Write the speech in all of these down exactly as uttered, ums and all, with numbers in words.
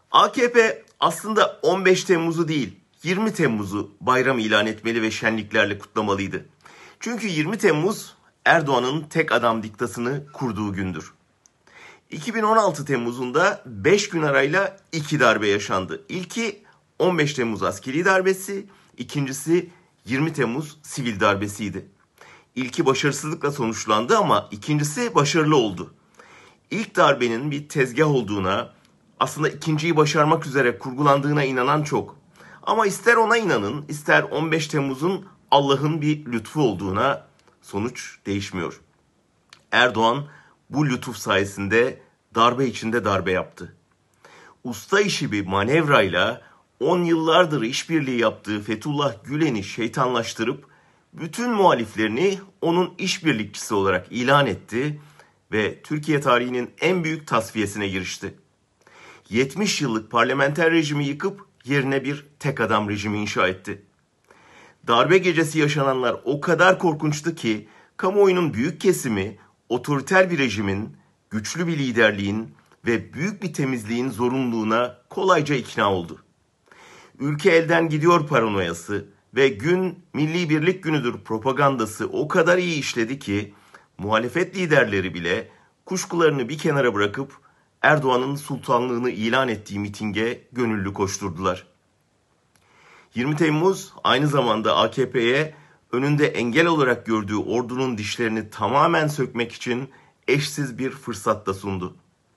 A K P aslında on beş Temmuz'u değil, yirmi Temmuz'u bayram ilan etmeli ve şenliklerle kutlamalıydı. Çünkü yirmi Temmuz Erdoğan'ın tek adam diktasını kurduğu gündür. iki bin on altı Temmuz'unda beş gün arayla iki darbe yaşandı. İlki on beş Temmuz askeri darbesi, ikincisi yirmi Temmuz sivil darbesiydi. İlki başarısızlıkla sonuçlandı ama ikincisi başarılı oldu. İlk darbenin bir tezgah olduğuna, aslında ikinciyi başarmak üzere kurgulandığına inanan çok. Ama ister ona inanın, ister on beş Temmuz'un Allah'ın bir lütfu olduğuna, sonuç değişmiyor. Erdoğan bu lütuf sayesinde darbe içinde darbe yaptı. Usta işi bir manevrayla on yıllardır işbirliği yaptığı Fethullah Gülen'i şeytanlaştırıp bütün muhaliflerini onun işbirlikçisi olarak ilan etti ve Türkiye tarihinin en büyük tasfiyesine girişti. yetmiş yıllık parlamenter rejimi yıkıp yerine bir tek adam rejimi inşa etti. Darbe gecesi yaşananlar o kadar korkunçtu ki kamuoyunun büyük kesimi otoriter bir rejimin, güçlü bir liderliğin ve büyük bir temizliğin zorunluluğuna kolayca ikna oldu. Ülke elden gidiyor paranoyası ve gün Milli Birlik Günü'dür propagandası o kadar iyi işledi ki muhalefet liderleri bile kuşkularını bir kenara bırakıp Erdoğan'ın sultanlığını ilan ettiği mitinge gönüllü koşturdular. yirmi Temmuz aynı zamanda A K P'ye önünde engel olarak gördüğü ordunun dişlerini tamamen sökmek için eşsiz bir fırsat da sundu.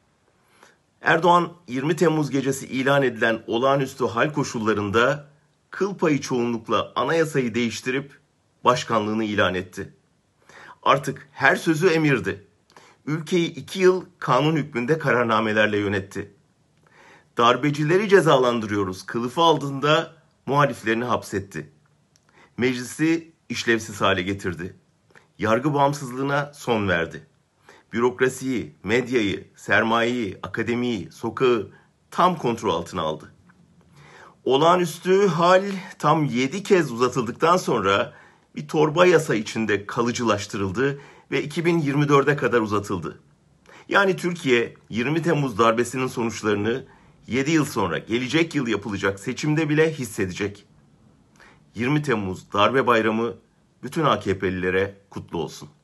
Erdoğan yirmi Temmuz gecesi ilan edilen olağanüstü hal koşullarında kıl payı çoğunlukla anayasayı değiştirip başkanlığını ilan etti. Artık her sözü emirdi. Ülkeyi iki yıl kanun hükmünde kararnamelerle yönetti. Darbecileri cezalandırıyoruz kılıfı aldığında muhaliflerini hapsetti. Meclisi işlevsiz hale getirdi. Yargı bağımsızlığına son verdi. Bürokrasiyi, medyayı, sermayeyi, akademiyi, sokağı tam kontrol altına aldı. Olağanüstü hal tam yedi kez uzatıldıktan sonra bir torba yasa içinde kalıcılaştırıldı ve iki bin yirmi dörde kadar uzatıldı. Yani Türkiye yirmi Temmuz darbesinin sonuçlarını yedi yıl sonra gelecek yıl yapılacak seçimde bile hissedecek. yirmi Temmuz darbe bayramı bütün A K P'lilere kutlu olsun.